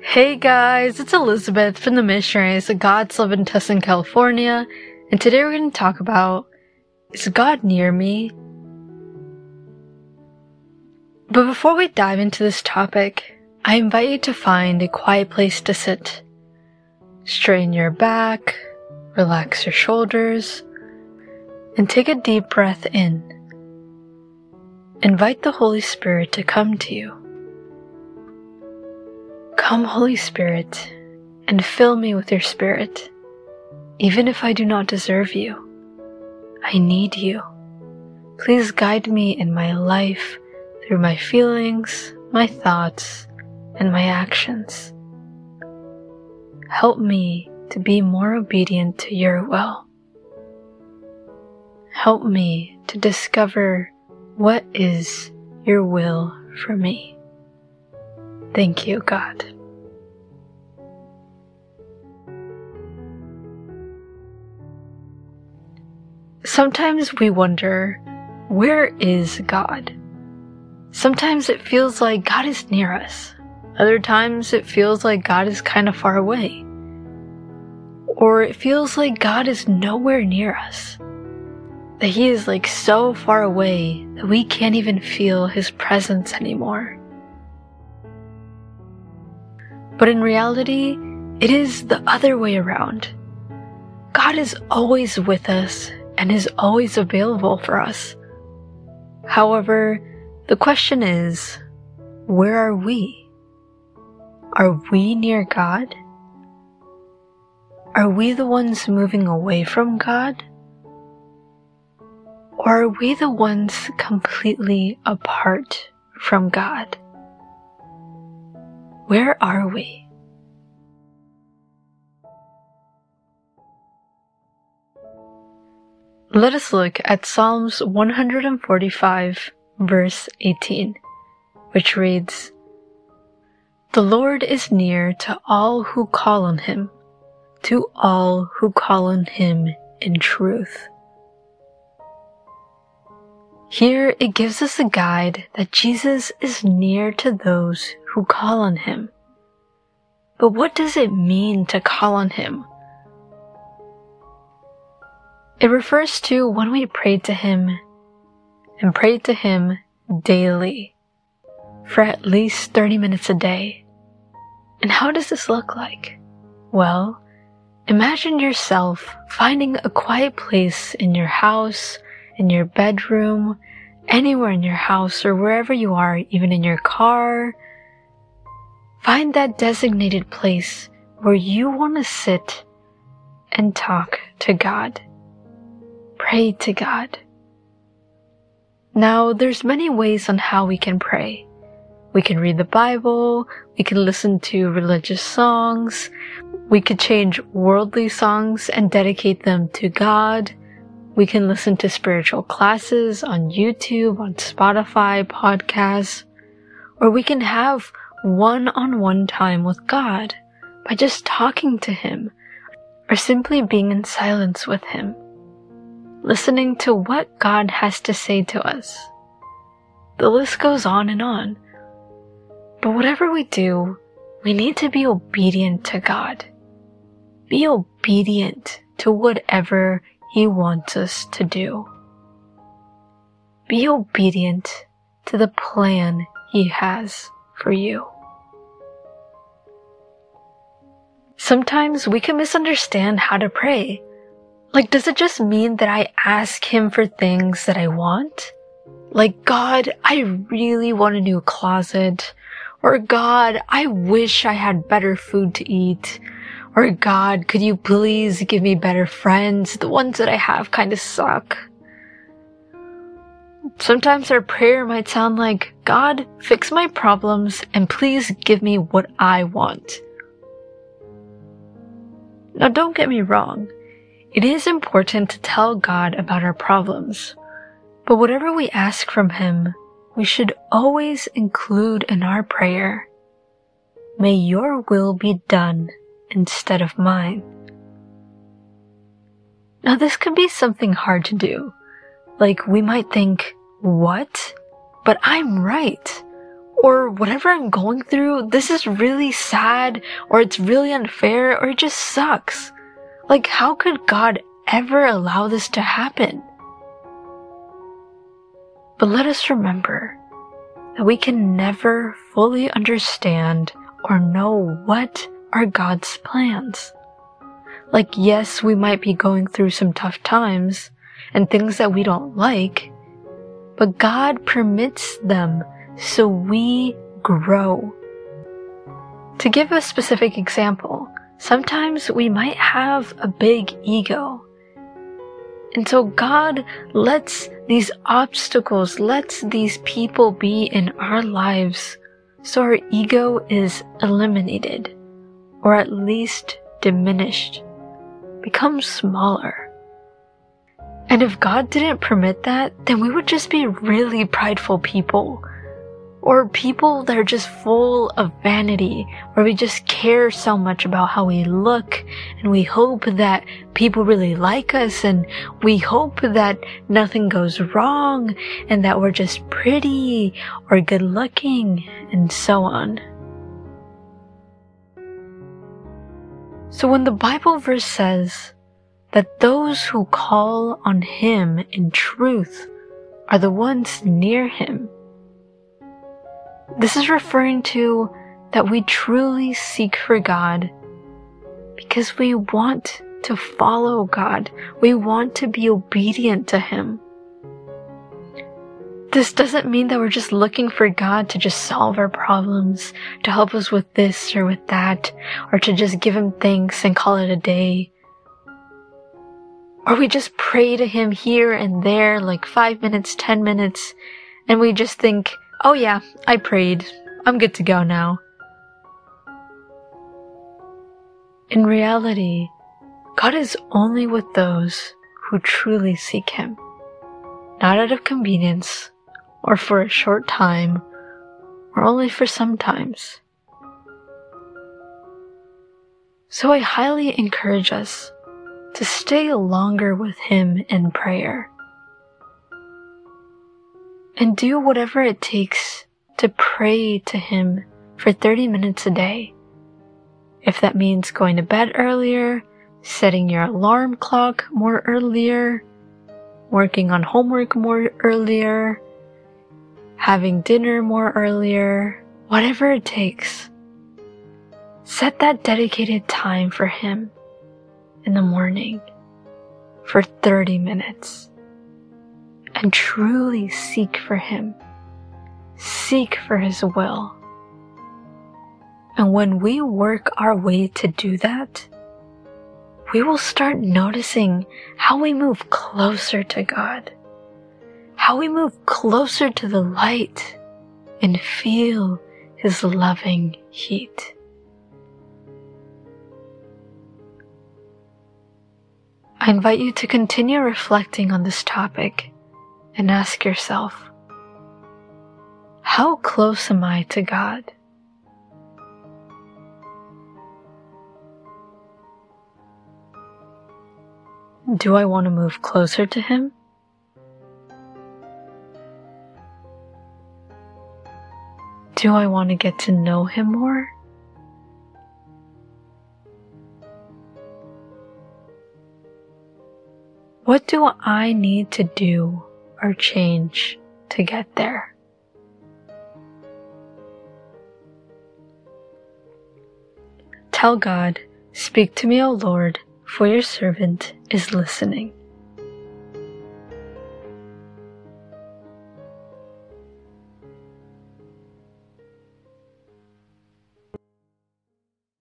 Hey guys, it's Elizabeth from the Missionaries of God's Love in Tustin, California, and today we're going to talk about, is God near me? But before we dive into this topic, I invite you to find a quiet place to sit. Straighten your back, relax your shoulders, and take a deep breath in. Invite the Holy Spirit to come to you. Come, Holy Spirit, and fill me with your Spirit. Even if I do not deserve you, I need you. Please guide me in my life through my feelings, my thoughts, and my actions. Help me to be more obedient to your will. Help me to discover what is your will for me. Thank you, God. Sometimes we wonder, where is God? Sometimes it feels like God is near us. Other times it feels like God is kind of far away. Or it feels like God is nowhere near us. That He is like so far away that we can't even feel His presence anymore. But in reality, it is the other way around. God is always with us and is always available for us. However, the question is, where are we? Are we near God? Are we the ones moving away from God? Or are we the ones completely apart from God? Where are we? Let us look at Psalms 145, verse 18, which reads, "The Lord is near to all who call on Him, to all who call on Him in truth." Here it gives us a guide that Jesus is near to those who call on Him. But what does it mean to call on Him? It refers to when we pray to Him and pray to Him daily for at least 30 minutes a day. And how does this look like? Well, imagine yourself finding a quiet place in your house, in your bedroom, anywhere in your house or wherever you are, even in your car. Find that designated place where you want to sit and talk to God. Pray to God. Now, there's many ways on how we can pray. We can read the Bible, we can listen to religious songs, we could change worldly songs and dedicate them to God. We can listen to spiritual classes on YouTube, on Spotify, podcasts, or we can have one-on-one time with God by just talking to Him or simply being in silence with Him, listening to what God has to say to us. The list goes on and on. But whatever we do, we need to be obedient to God. Be obedient to whatever He wants us to do. Be obedient to the plan He has for you. Sometimes we can misunderstand how to pray. Like, does it just mean that I ask Him for things that I want? Like, God, I really want a new closet. Or God, I wish I had better food to eat. Or God, could you please give me better friends? The ones that I have kind of suck. Sometimes our prayer might sound like, God, fix my problems and please give me what I want. Now, don't get me wrong. It is important to tell God about our problems. But whatever we ask from Him, we should always include in our prayer, "May your will be done instead of mine." Now, this could be something hard to do. Like, we might think, what? But I'm right. or whatever I'm going through, this is really sad, or it's really unfair, or it just sucks. Like, how could God ever allow this to happen? But let us remember that we can never fully understand or know what are God's plans. Like, yes, we might be going through some tough times and things that we don't like, but God permits them so we grow. To give a specific example, sometimes we might have a big ego. And so God lets these obstacles, lets these people be in our lives so our ego is eliminated, or at least diminished, becomes smaller. And if God didn't permit that, then we would just be really prideful people, or people that are just full of vanity, where we just care so much about how we look, and we hope that people really like us, and we hope that nothing goes wrong, and that we're just pretty or good looking, and so on. So when the Bible verse says that those who call on Him in truth are the ones near Him, this is referring to that we truly seek for God because we want to follow God. We want to be obedient to Him. This doesn't mean that we're just looking for God to just solve our problems, to help us with this or with that, or to just give Him thanks and call it a day. Or we just pray to Him here and there, like 5 minutes, 10 minutes, and we just think, oh yeah, I prayed. I'm good to go now. In reality, God is only with those who truly seek Him, not out of convenience, or for a short time, or only for some times. So I highly encourage us to stay longer with Him in prayer, and do whatever it takes to pray to Him for 30 minutes a day. If that means going to bed earlier, setting your alarm clock more earlier, working on homework more earlier, having dinner more earlier, whatever it takes. Set that dedicated time for Him in the morning for 30 minutes. And truly seek for Him. Seek for His will. And when we work our way to do that, we will start noticing how we move closer to God, how we move closer to the light and feel His loving heat. I invite you to continue reflecting on this topic and ask yourself, how close am I to God? Do I want to move closer to Him? Do I want to get to know Him more? What do I need to do or change to get there? Tell God, "Speak to me, O Lord, for your servant is listening."